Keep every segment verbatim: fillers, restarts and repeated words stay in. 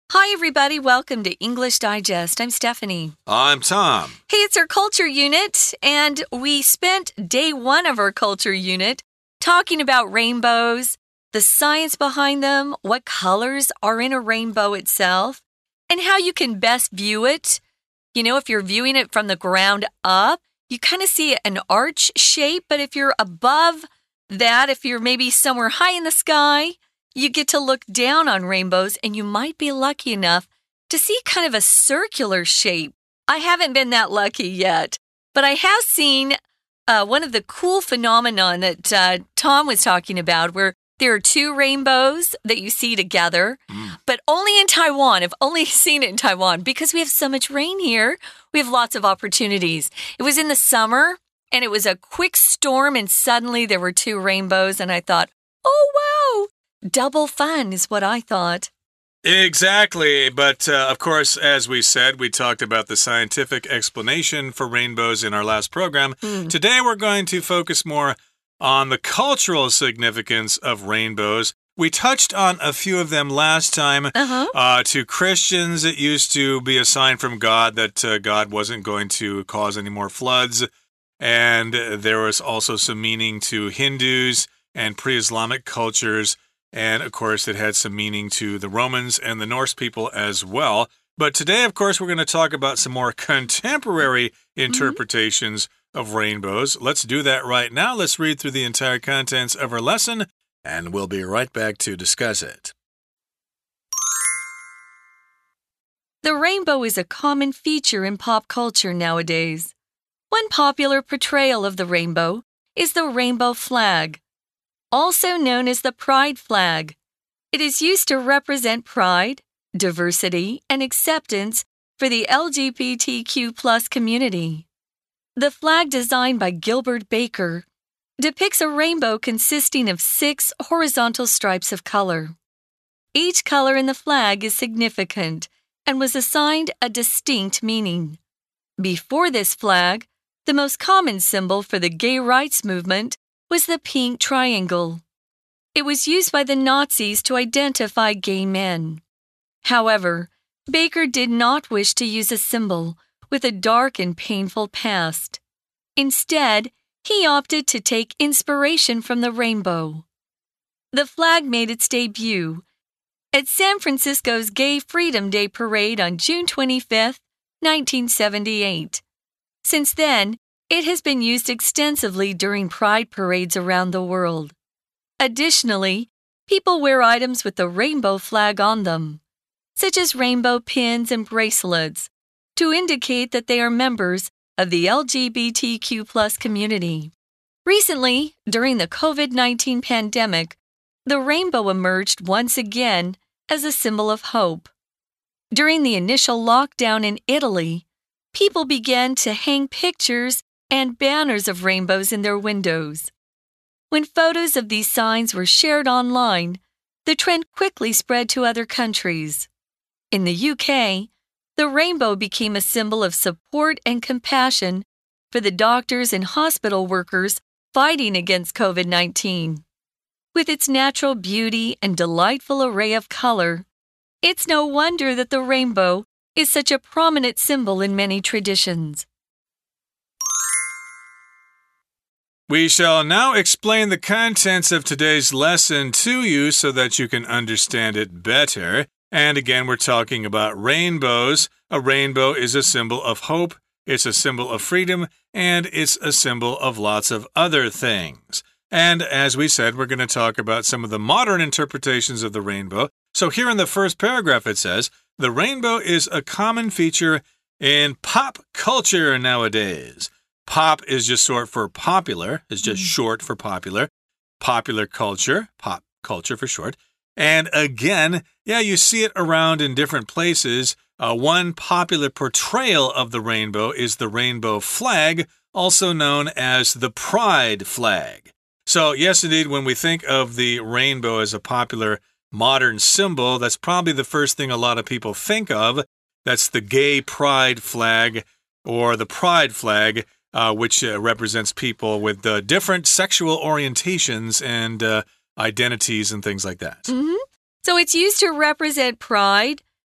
Hi, everybody. Welcome to English Digest. I'm Stephanie. I'm Tom. Hey, it's our culture unit, and we spent day one of our culture unit talking about rainbows, the science behind them, what colors are in a rainbow itself, and how you can best view it. You know, if you're viewing it from the ground up, you kind of see an arch shape, but if you're above that, if you're maybe somewhere high in the sky, you get to look down on rainbows, and you might be lucky enough to see kind of a circular shape. I haven't been that lucky yet, but I have seen uh, one of the cool phenomenon that uh, Tom was talking about, where there are two rainbows that you see together, mm. but only in Taiwan. I've only seen it in Taiwan because we have so much rain here. We have lots of opportunities. It was in the summer, and it was a quick storm, and suddenly there were two rainbows, and I thought, oh, wow. Double fun is what I thought. Exactly. But, uh, of course, as we said, we talked about the scientific explanation for rainbows in our last program. Mm. Today, we're going to focus more on the cultural significance of rainbows. We touched on a few of them last time. Uh-huh. Uh, to Christians, it used to be a sign from God that uh, God wasn't going to cause any more floods. And there was also some meaning to Hindus and pre-Islamic cultures. And, of course, it had some meaning to the Romans and the Norse people as well. But today, of course, we're going to talk about some more contemporary interpretations mm-hmm. of rainbows. Let's do that right now. Let's read through the entire contents of our lesson, and we'll be right back to discuss it. The rainbow is a common feature in pop culture nowadays. One popular portrayal of the rainbow is the rainbow flag, also known as the pride flag. It is used to represent pride, diversity, and acceptance for the L G B T Q plus community. The flag, designed by Gilbert Baker, depicts a rainbow consisting of six horizontal stripes of color. Each color in the flag is significant and was assigned a distinct meaning. Before this flag, the most common symbol for the gay rights movement was the pink triangle. It was used by the Nazis to identify gay men. However, Baker did not wish to use a symbol with a dark and painful past. Instead, he opted to take inspiration from the rainbow. The flag made its debut at San Francisco's Gay Freedom Day Parade on June twenty-fifth, nineteen seventy-eight. Since then, it has been used extensively during pride parades around the world. Additionally, people wear items with the rainbow flag on them, such as rainbow pins and bracelets, to indicate that they are members of the L G B T Q plus community. Recently, during the COVID nineteen pandemic, the rainbow emerged once again as a symbol of hope. During the initial lockdown in Italy, people began to hang pictures and banners of rainbows in their windows. When photos of these signs were shared online, the trend quickly spread to other countries. In the U K, the rainbow became a symbol of support and compassion for the doctors and hospital workers fighting against COVID nineteen. With its natural beauty and delightful array of color, it's no wonder that the rainbow is such a prominent symbol in many traditions. We shall now explain the contents of today's lesson to you so that you can understand it better. And again, we're talking about rainbows. A rainbow is a symbol of hope, it's a symbol of freedom, and it's a symbol of lots of other things. And as we said, we're going to talk about some of the modern interpretations of the rainbow. So here in the first paragraph it says, the rainbow is a common feature in pop culture nowadays. Pop is just short for popular, is just mm. short for popular. Popular culture, pop culture for short. And again, yeah, you see it around in different places. Uh, one popular portrayal of the rainbow is the rainbow flag, also known as the pride flag. So yes, indeed, when we think of the rainbow as a popular modern symbol, that's probably the first thing a lot of people think of. That's the gay pride flag or the pride flag. Uh, which uh, represents people with uh, different sexual orientations and uh, identities and things like that. Mm-hmm. So it's used to represent pride,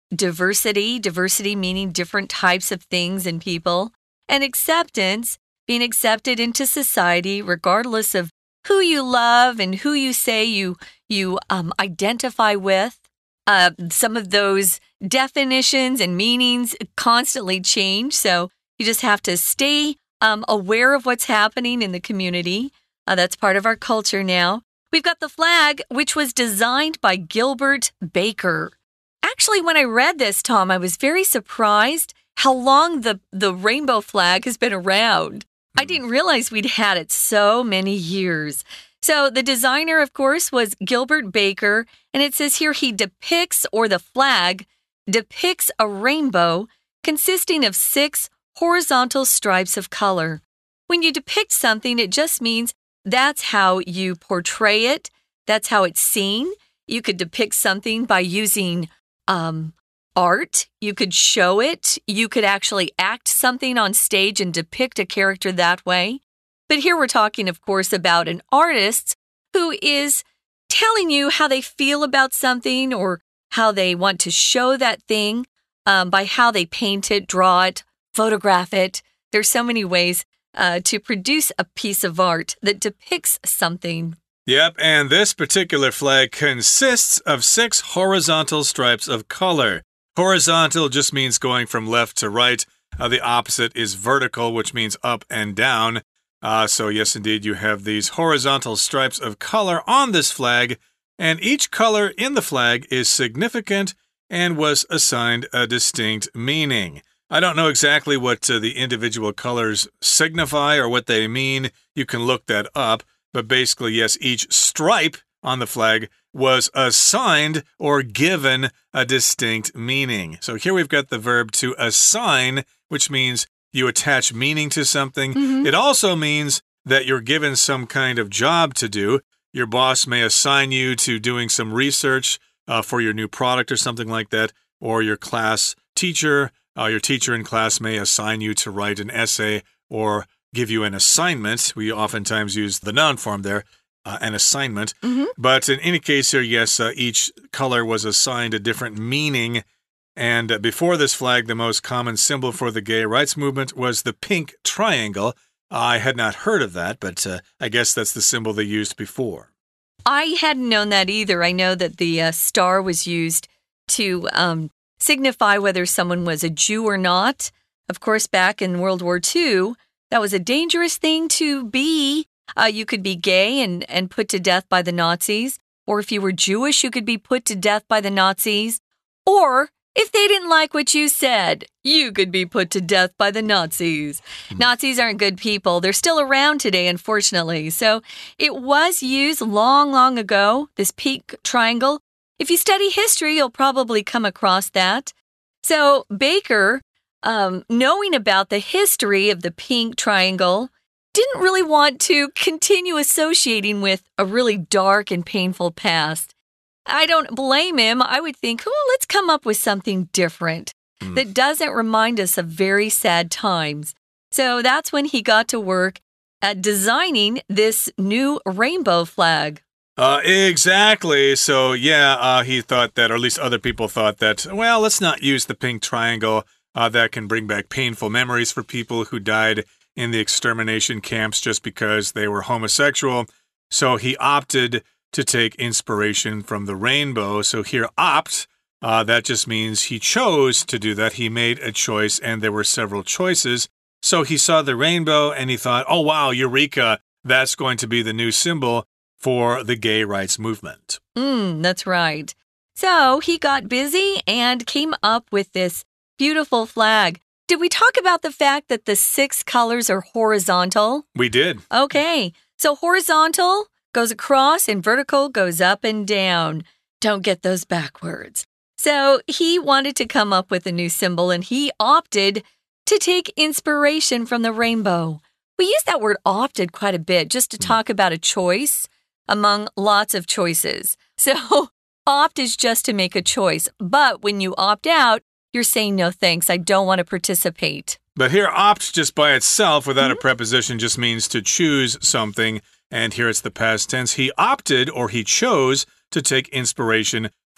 diversity, diversity meaning different types of things and people, and acceptance, being accepted into society regardless of who you love and who you say you, you um, identify with. Uh, some of those definitions and meanings constantly change, so you just have to stay um, aware of what's happening in the community. Uh, that's part of our culture now. We've got the flag, which was designed by Gilbert Baker. Actually, when I read this, Tom, I was very surprised how long the, the rainbow flag has been around. I didn't realize we'd had it so many years. So the designer, of course, was Gilbert Baker, and it says here he depicts, or the flag depicts a rainbow consisting of six horizontal stripes of color. When you depict something, it just means that's how you portray it. That's how it's seen. You could depict something by using um, art. You could show it. You could actually act something on stage and depict a character that way. But here we're talking, of course, about an artist who is telling you how they feel about something or how they want to show that thing um, by how they paint it, draw it, photograph it. There's so many ways uh, to produce a piece of art that depicts something. Yep, and this particular flag consists of six horizontal stripes of color. Horizontal just means going from left to right. Uh, the opposite is vertical, which means up and down. Uh, so yes, indeed, you have these horizontal stripes of color on this flag, and each color in the flag is significant and was assigned a distinct meaning. I don't know exactly what uh, the individual colors signify or what they mean. You can look that up. But basically, yes, each stripe on the flag was assigned or given a distinct meaning. So here we've got the verb to assign, which means you attach meaning to something. Mm-hmm. It also means that you're given some kind of job to do. Your boss may assign you to doing some research uh, for your new product or something like that, or your class teacher, uh, your teacher in class may assign you to write an essay or give you an assignment. We oftentimes use the noun form there, uh, an assignment. Mm-hmm. But in any case here, yes, uh, each color was assigned a different meaning. And uh, before this flag, the most common symbol for the gay rights movement was the pink triangle. I had not heard of that, but uh, I guess that's the symbol they used before. I hadn't known that either. I know that the uh, star was used to um, signify whether someone was a Jew or not. Of course, back in World War Two, that was a dangerous thing to be. Uh, you could be gay and, and put to death by the Nazis. Or if you were Jewish, you could be put to death by the Nazis. Or if they didn't like what you said, you could be put to death by the Nazis. Mm. Nazis aren't good people. They're still around today, unfortunately. So it was used long, long ago, this pink triangle. If you study history, you'll probably come across that. So Baker, Um, knowing about the history of the pink triangle, didn't really want to continue associating with a really dark and painful past. I don't blame him. I would think, oh, let's come up with something different mm. that doesn't remind us of very sad times. So that's when he got to work at designing this new rainbow flag. Uh, exactly. So, yeah, uh, he thought that, or at least other people thought that, well, let's not use the pink triangle. Uh, that can bring back painful memories for people who died in the extermination camps just because they were homosexual. So he opted to take inspiration from the rainbow. So here, opt, uh, that just means he chose to do that. He made a choice, and there were several choices. So he saw the rainbow, and he thought, oh, wow, eureka, that's going to be the new symbol for the gay rights movement. Mm, that's right. So he got busy and came up with this beautiful flag. Did we talk about the fact that the six colors are horizontal? We did. Okay. So horizontal goes across and vertical goes up and down. Don't get those backwards. So he wanted to come up with a new symbol, and he opted to take inspiration from the rainbow. We use that word opted quite a bit just to talk about a choice among lots of choices. So opt is just to make a choice. But when you opt out, you're saying, no, thanks, I don't want to participate. But here, opt just by itself without mm-hmm. a preposition just means to choose something. And here it's the past tense. He opted, or he chose, to take inspiration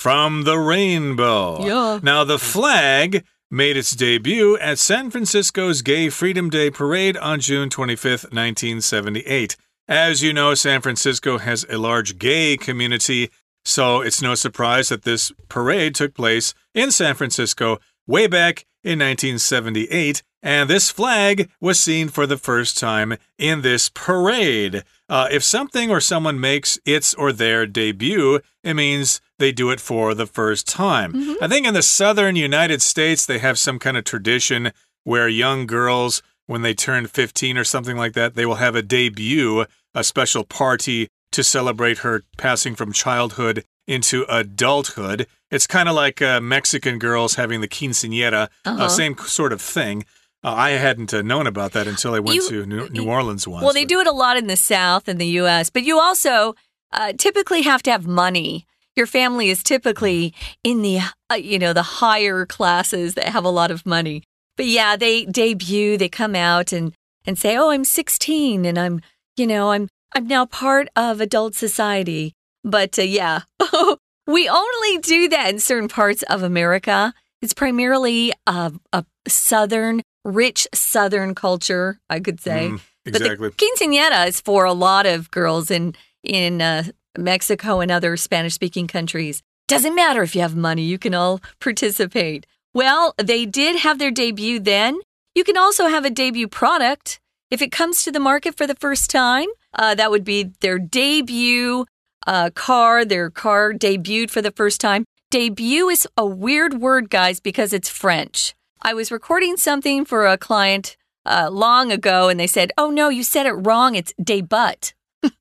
from the rainbow. Yeah. Now, the flag made its debut at San Francisco's Gay Freedom Day Parade on June twenty-fifth, nineteen seventy-eight. As you know, San Francisco has a large gay community, so it's no surprise that this parade took place in San Francisco way back in nineteen seventy-eight, and this flag was seen for the first time in this parade. Uh, if something or someone makes its or their debut, it means they do it for the first time. Mm-hmm. I think in the southern United States, they have some kind of tradition where young girls, when they turn fifteen or something like that, they will have a debut, a special party to celebrate her passing from childhood into adulthood. It's kind of like uh, Mexican girls having the quinceañera, uh-huh. uh, same sort of thing. Uh, I hadn't uh, known about that until I went you, to New, New Orleans once. Well, they do it a lot in the South in the U S, but you also uh, typically have to have money. Your family is typically in the, uh, you know, the higher classes that have a lot of money. But yeah, they debut, they come out and, and say, oh, I'm sixteen and I'm, you know, I'm, I'm now part of adult society. But uh, yeah, we only do that in certain parts of America. It's primarily a, a southern, rich southern culture, I could say. Mm, exactly. But the quinceañera is for a lot of girls in, in uh, Mexico and other Spanish-speaking countries. Doesn't matter if you have money, you can all participate. Well, they did have their debut then. You can also have a debut product. If it comes to the market for the first time, uh, that would be their debut uh, car, their car debuted for the first time. Debut is a weird word, guys, because it's French. I was recording something for a client uh, long ago, and they said, oh, no, you said it wrong. It's debut.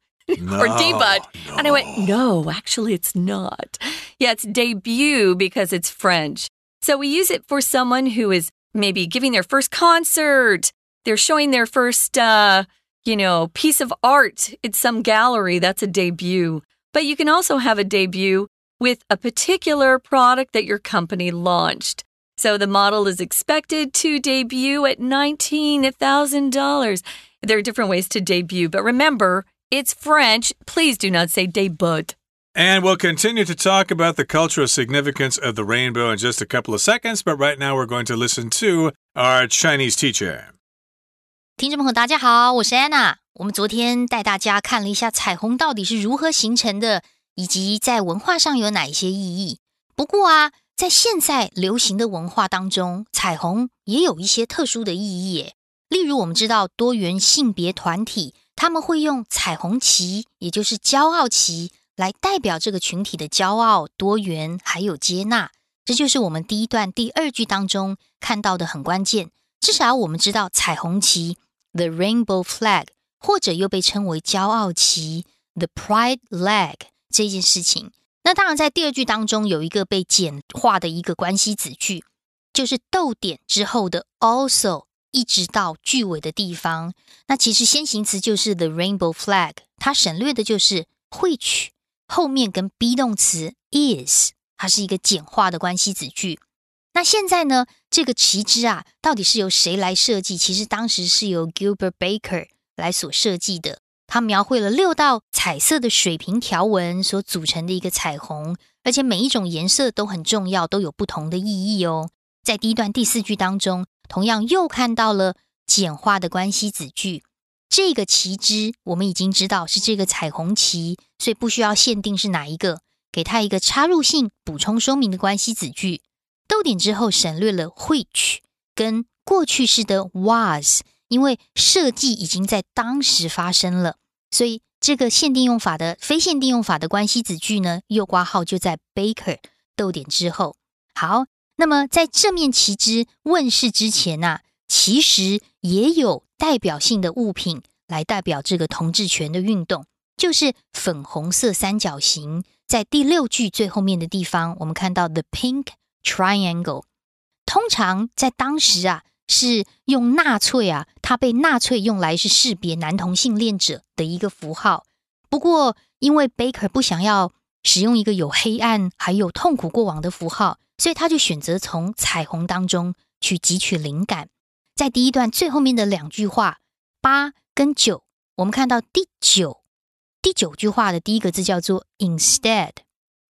No, or debut. No. And I went, no, actually, it's not. Yeah, it's debut because it's French. So we use it for someone who is maybe giving their first concert. They're showing their first, uh, you know, piece of art at some gallery. That's a debut. But you can also have a debut with a particular product that your company launched. So the model is expected to debut at nineteen thousand dollars. There are different ways to debut, but remember, it's French. Please do not say debut. And we'll continue to talk about the cultural significance of the rainbow in just a couple of seconds, but right now we're going to listen to our Chinese teacher. 听众朋友大家好，我是 Anna。我们昨天带大家看了一下彩虹到底是如何形成的，以及在文化上有哪一些意義。不過啊，在現在流行的文化當中，彩虹也有一些特殊的意義耶。例如我們知道多元性別團體，他們會用彩虹旗，也就是驕傲旗，來代表這個群體的驕傲、多元還有接納。這就是我們第一段第二句當中看到的很關鍵。至少我們知道彩虹旗 The Rainbow Flag 或者又被稱為驕傲旗 The Pride Flag 這件事情。那當然在第二句當中有一個被簡化的一個關係子句，就是逗點之後的 also 一直到句尾的地方。那其實先行詞就是 The Rainbow Flag， 它省略的就是 which 後面跟 be 動詞 is， 它是一個簡化的關係子句。那現在呢，這個旗幟啊，到底是由誰來設計？其實當時是由 Gilbert Baker 來所設計的。他描繪了六道彩色的水平條紋所組成的一個彩虹，而且每一種顏色都很重要，都有不同的意義哦。在第一段第四句當中，同樣又看到了簡化的關係子句。這個旗幟我們已經知道是這個彩虹旗，所以不需要限定是哪一個，給它一個插入性補充說明的關係子句。逗點之後省略了 which 跟過去式的 was， 因為設計已經在當時發生了，所以這個限定用法的非限定用法的關係子句呢，右括號就在 Baker 逗點之後。好，那麼在這面旗幟問世之前啊，其實也有代表性的物品來代表這個同志權的運動，就是粉紅色三角形。在第六句最後面的地方，我們看到 the pink triangle， 通常在當時啊，是用納粹啊，它被納粹用來是識別男同性戀者的一個符號。不過，因為 Baker 不想要使用一個有黑暗還有痛苦過往的符號，所以他就選擇從彩虹當中去汲取靈感。在第一段最後面的兩句話，八跟九，我們看到第九第九句話的第一個字叫做 instead，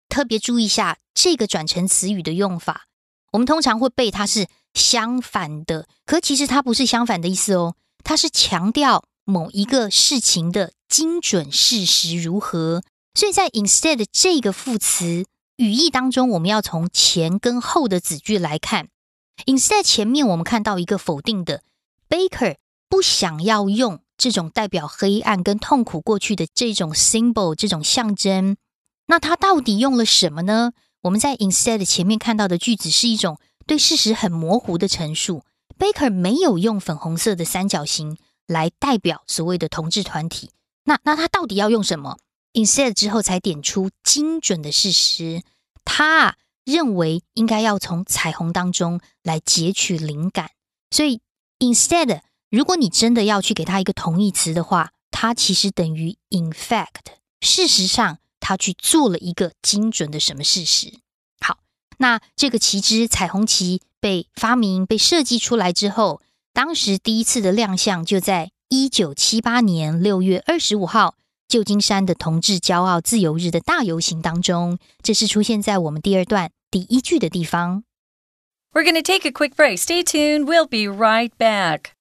特別注意一下這個轉成詞語的用法。我們通常會背它是相反的，可其實它不是相反的意思哦，它是強調某一個事情的精準事實如何。所以在 instead 這個副詞語義當中，我們要從前跟後的子句來看。instead 前面我們看到一個否定的 Baker 不想要用這種代表黑暗跟痛苦過去的這種 symbol 這種象徵，那他到底用了什麼呢？我們在 instead 前面看到的句子是一種對事實很模糊的陳述。Baker 沒有用粉紅色的三角形來代表所謂的同志團體，那那他到底要用什麼？ instead 之後才點出精準的事實，他認為應該要從彩虹當中來截取靈感。所以 instead 如果你真的要去給他一個同義詞的話，它其實等於 in fact， 事實上他去做了一個精準的什麼事實。好，那這個旗幟彩虹旗被發明被設計出來之後，當時第一次的亮相就在一九七八年六月二十五號舊金山的同志驕傲自由日的大遊行當中，這是出現在我們第二段第一句的地方。 We're going to take a quick break. Stay tuned. We'll be right back.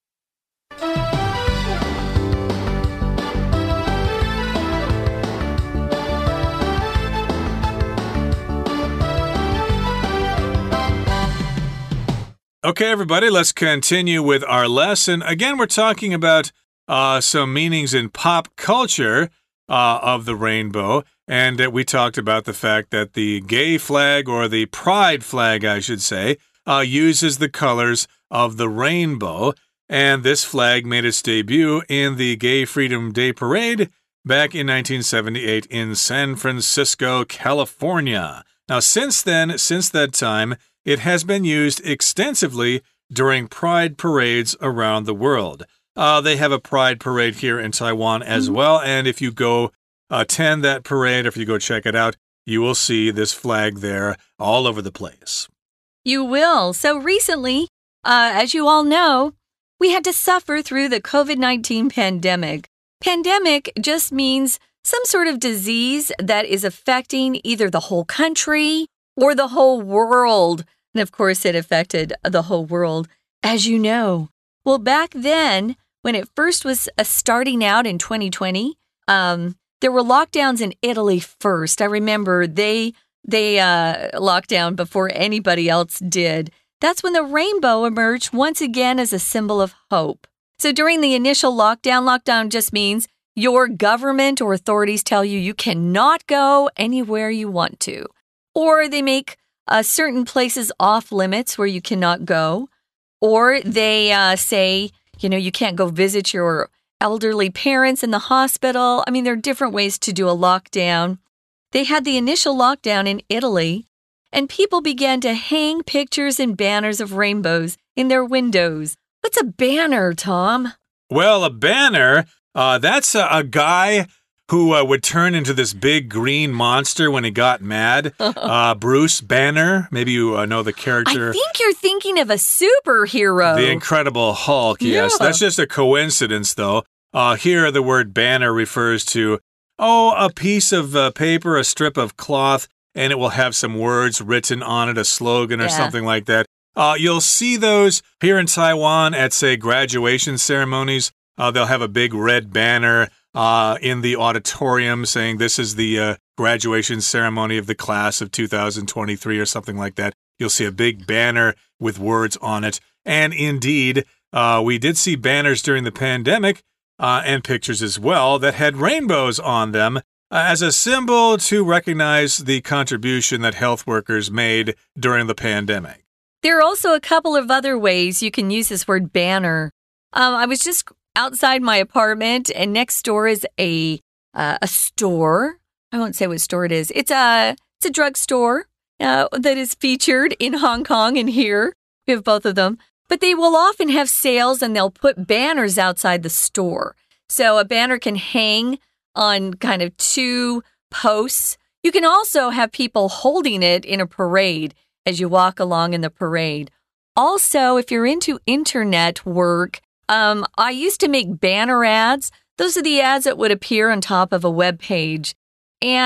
Okay, everybody, let's continue with our lesson. Again, we're talking about uh, some meanings in pop culture uh, of the rainbow. And uh, we talked about the fact that the gay flag, or the pride flag, I should say, uh, uses the colors of the rainbow. And this flag made its debut in the Gay Freedom Day Parade back in nineteen seventy-eight in San Francisco, California. Now, since then, since that time, it has been used extensively during pride parades around the world. Uh, they have a pride parade here in Taiwan as mm-hmm. well. And if you go attend that parade, or if you go check it out, you will see this flag there all over the place. You will. So recently, uh, as you all know, we had to suffer through the COVID nineteen pandemic. Pandemic just means some sort of disease that is affecting either the whole country or the whole world. And of course, it affected the whole world, as you know. Well, back then, when it first was uh, starting out in twenty twenty, um, there were lockdowns in Italy first. I remember they they uh, locked down before anybody else did. That's when the rainbow emerged once again as a symbol of hope. So during the initial lockdown, lockdown just means your government or authorities tell you you cannot go anywhere you want to. Or they make uh, certain places off limits where you cannot go. Or they uh, say, you know, you can't go visit your elderly parents in the hospital. I mean, there are different ways to do a lockdown. They had the initial lockdown in Italy, and people began to hang pictures and banners of rainbows in their windows. What's a banner, Tom? Well, a banner, uh, that's a, a guy who uh, would turn into this big green monster when he got mad. Uh, Bruce Banner. Maybe you uh, know the character. I think you're thinking of a superhero. The Incredible Hulk, yes. Yeah. That's just a coincidence, though. Uh, here, the word banner refers to, oh, a piece of uh, paper, a strip of cloth, and it will have some words written on it, a slogan or yeah. something like that. Uh, you'll see those here in Taiwan at, say, graduation ceremonies. Uh, they'll have a big red banner uh, in the auditorium saying this is the uh, graduation ceremony of the class of two thousand twenty-three or something like that. You'll see a big banner with words on it. And indeed, uh, we did see banners during the pandemic uh, and pictures as well that had rainbows on them, as a symbol to recognize the contribution that health workers made during the pandemic. There are also a couple of other ways you can use this word banner. Um, I was just outside my apartment, and next door is a uh, a store. I won't say what store it is. It's a it's a drugstore uh, that is featured in Hong Kong and here. We have both of them. But they will often have sales, and they'll put banners outside the store. So a banner can hang on kind of two posts. You can also have people holding it in a parade as you walk along in the parade. Also, if you're into internet work, um, I used to make banner ads. Those are the ads that would appear on top of a web page. And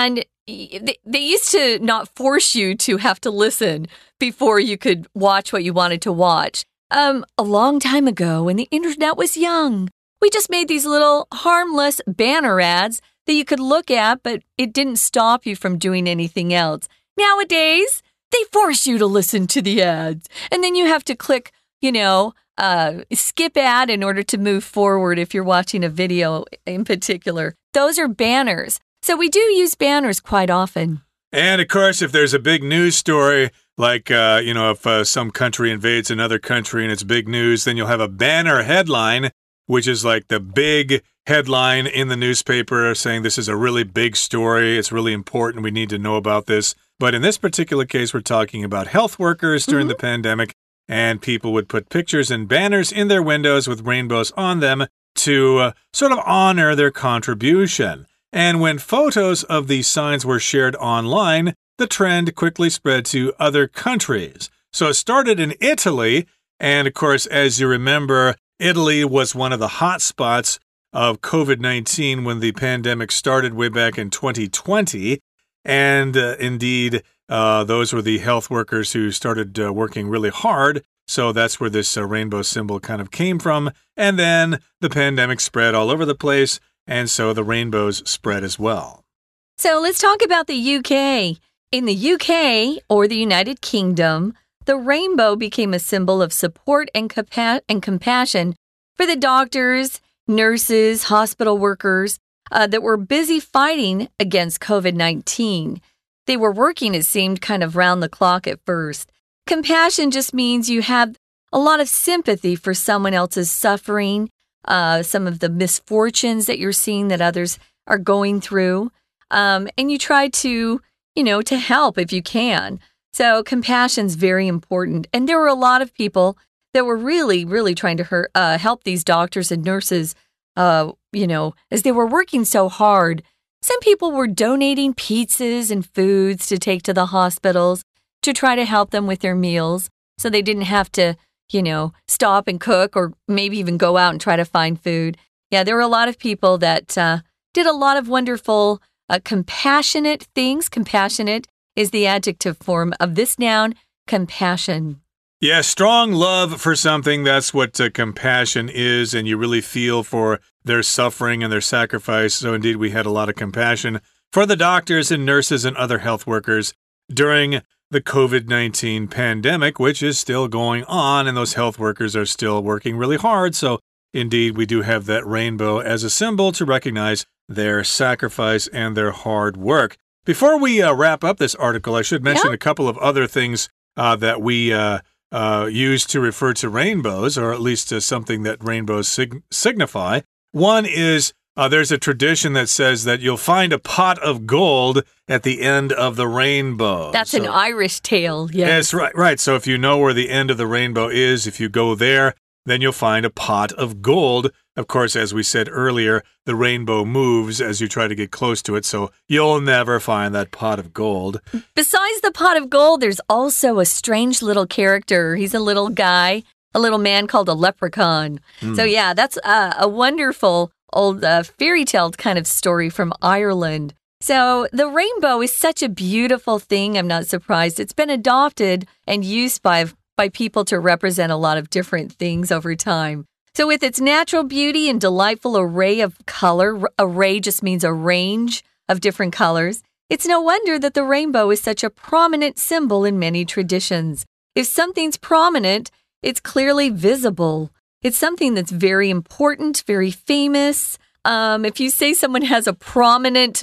they, they used to not force you to have to listen before you could watch what you wanted to watch. Um, a long time ago, when the internet was young, we just made these little harmless banner ads that you could look at, but it didn't stop you from doing anything else. Nowadays, they force you to listen to the ads, and then you have to click, you know, uh, skip ad in order to move forward if you're watching a video in particular. Those are banners. So we do use banners quite often. And, of course, if there's a big news story, like, uh, you know, if uh, some country invades another country and it's big news, then you'll have a banner headline, which is like the big headline in the newspaper saying this is a really big story. It's really important. We need to know about this. But in this particular case, we're talking about health workers during mm-hmm. the pandemic, and people would put pictures and banners in their windows with rainbows on them to uh, sort of honor their contribution. And when photos of these signs were shared online, the trend quickly spread to other countries. So it started in Italy, and of course, as you remember, Italy was one of the hot spots of COVID nineteen when the pandemic started way back in twenty twenty. And uh, indeed, uh, those were the health workers who started uh, working really hard. So that's where this uh, rainbow symbol kind of came from. And then the pandemic spread all over the place, and so the rainbows spread as well. So let's talk about the U K. In the U K, or the United Kingdom, the rainbow became a symbol of support and, compa- and compassion for the doctors, nurses, hospital workers uh, that were busy fighting against COVID nineteen. They were working, it seemed, kind of round the clock at first. Compassion just means you have a lot of sympathy for someone else's suffering, uh, some of the misfortunes that you're seeing that others are going through, um, and you try to you know, to help if you can. So compassion's very important. And there were a lot of people that were really, really trying to hurt, uh, help these doctors and nurses, uh, you know, as they were working so hard. Some people were donating pizzas and foods to take to the hospitals to try to help them with their meals so they didn't have to, you know, stop and cook or maybe even go out and try to find food. Yeah, there were a lot of people that uh, did a lot of wonderful Uh, compassionate things. Compassionate is the adjective form of this noun, compassion. Yeah, strong love for something. That's what uh, compassion is, and you really feel for their suffering and their sacrifice. So indeed, we had a lot of compassion for the doctors and nurses and other health workers during the COVID nineteen pandemic, which is still going on, and those health workers are still working really hard. So indeed, we do have that rainbow as a symbol to recognize their sacrifice and their hard work. Before we uh, wrap up this article, I should mention yeah. a couple of other things uh, that we uh, uh, use to refer to rainbows, or at least uh, something that rainbows sig signify. One is uh, there's a tradition that says that you'll find a pot of gold at the end of the rainbow. That's so, an Irish tale, yes. Yes, right, right. So if you know where the end of the rainbow is, if you go there, then you'll find a pot of gold. Of course, as we said earlier, the rainbow moves as you try to get close to it, so you'll never find that pot of gold. Besides the pot of gold, there's also a strange little character. He's a little guy, a little man called a leprechaun. Mm. So yeah, that's uh, a wonderful old uh, fairy tale kind of story from Ireland. So the rainbow is such a beautiful thing. I'm not surprised. It's been adopted and used by by people to represent a lot of different things over time. So with its natural beauty and delightful array of color, array just means a range of different colors, it's no wonder that the rainbow is such a prominent symbol in many traditions. If something's prominent, it's clearly visible. It's something that's very important, very famous. Um, if you say someone has a prominent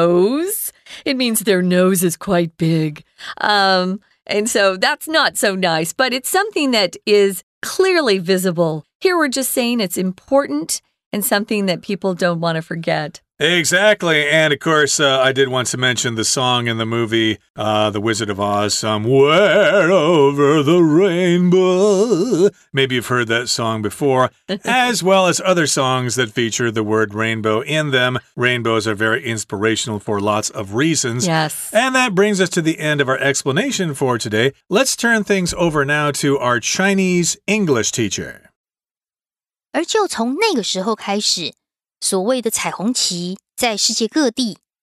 nose, it means their nose is quite big. Um, And so that's not so nice, but it's something that is clearly visible. Here we're just saying it's important and something that people don't want to forget. Exactly. And of course, uh, I did want to mention the song in the movie, uh, The Wizard of Oz, Somewhere Over the Rainbow. Maybe you've heard that song before, as well as other songs that feature the word rainbow in them. Rainbows are very inspirational for lots of reasons. Yes. And that brings us to the end of our explanation for today. Let's turn things over now to our Chinese English teacher. 而就从那個時候開始，所謂的彩虹旗在世界各地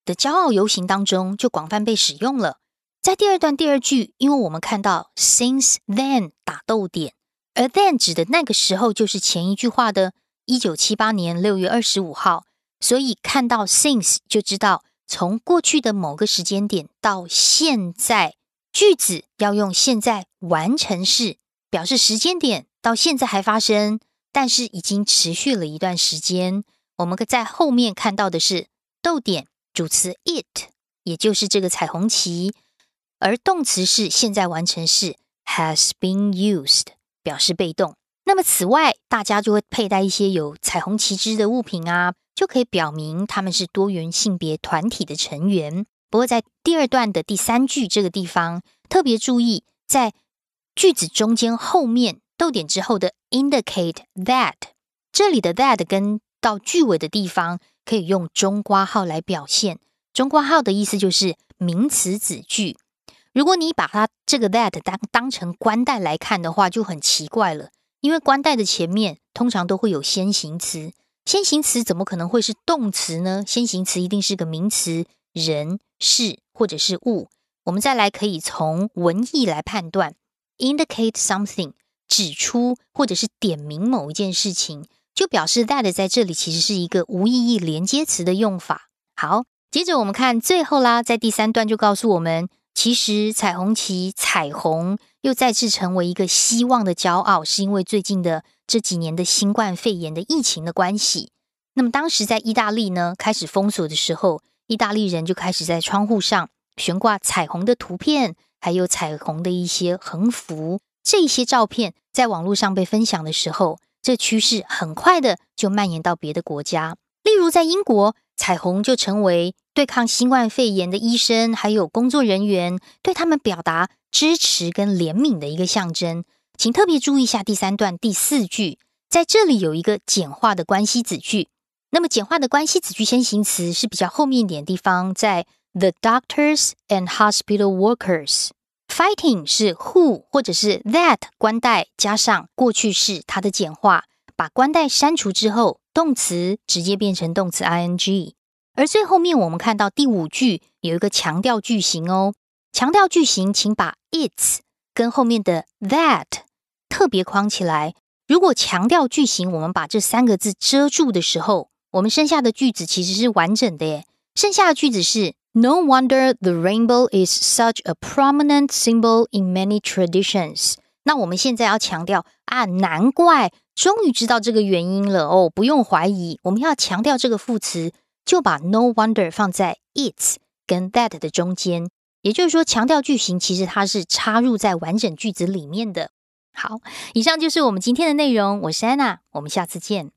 的驕傲遊行當中就廣泛被使用了。在第二段第二句，因為我們看到 since then 打逗點，而 then 指的那個時候就是前一句話的一九七八年六月二十五號，所以看到 since 就知道從過去的某個時間點到現在，句子要用現在完成式，表示時間點到現在還發生，但是已經持續了一段時間。我們在後面看到的是逗點主詞 it， 也就是這個彩虹旗，而動詞是現在完成式 has been used， 表示被動。那麼此外，大家就會佩戴一些有彩虹旗幟的物品啊，就可以表明他們是多元性別團體的成員。不過在第二段的第三句這個地方，特別注意在句子中間後面逗點之後的 indicate that， 這裡的 that 跟到句尾的地方可以用中括號來表現。中括號的意思就是名詞子句。如果你把它這個 that 當當成冠帶來看的話，就很奇怪了，因為冠帶的前面通常都會有先行詞，先行詞怎麼可能會是動詞呢？先行詞一定是個名詞，人、事或者是物。我們再來可以從文意來判斷 indicate something， 指出或者是點明某一件事情，就表示 that 在這裡其實是一個無意義連接詞的用法。好，接着我們看最後啦，在第三段就告訴我們，其實彩虹旗彩虹又再次成為一個希望的驕傲，是因為最近的這幾年的新冠肺炎的疫情的關係。那麼當時在意大利呢，開始封鎖的時候，意大利人就開始在窗戶上懸掛彩虹的圖片，還有彩虹的一些橫幅。這些照片在網絡上被分享的時候，這趨勢很快的就蔓延到別的國家。例如在英國，彩虹就成為對抗新冠肺炎的醫生還有工作人員，對他們表達支持跟憐憫的一個象徵。請特別注意一下第三段第四句，在這裡有一個簡化的關係子句。那麼簡化的關係子句先行詞是比較後面一點的地方，在 the doctors and hospital workers。Fighting 是 who 或者是 that 冠帶加上過去式它的簡化，把冠帶刪除之後，動詞直接變成動詞 ing。而最後面我們看到第五句有一個強調句型哦，強調句型請把 its 跟後面的 that 特別框起來。如果強調句型我們把這三個字遮住的時候，我們剩下的句子其實是完整的耶。剩下的句子是 No wonder the rainbow is such a prominent symbol in many traditions。 那我們現在要強調啊，難怪終於知道這個原因了哦，不用懷疑，我們要強調這個副詞，就把 no wonder 放在 its 跟 that 的中間，也就是說強調句型其實它是插入在完整句子裡面的。好，以上就是我們今天的內容，我是安娜，我們下次見。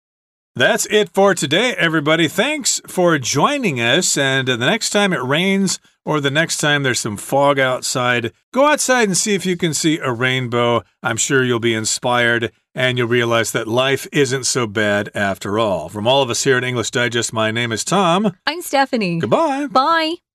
That's it for today, everybody. Thanks for joining us. And the next time it rains or the next time there's some fog outside, go outside and see if you can see a rainbow. I'm sure you'll be inspired and you'll realize that life isn't so bad after all. From all of us here at English Digest, my name is Tom. I'm Stephanie. Goodbye. Bye.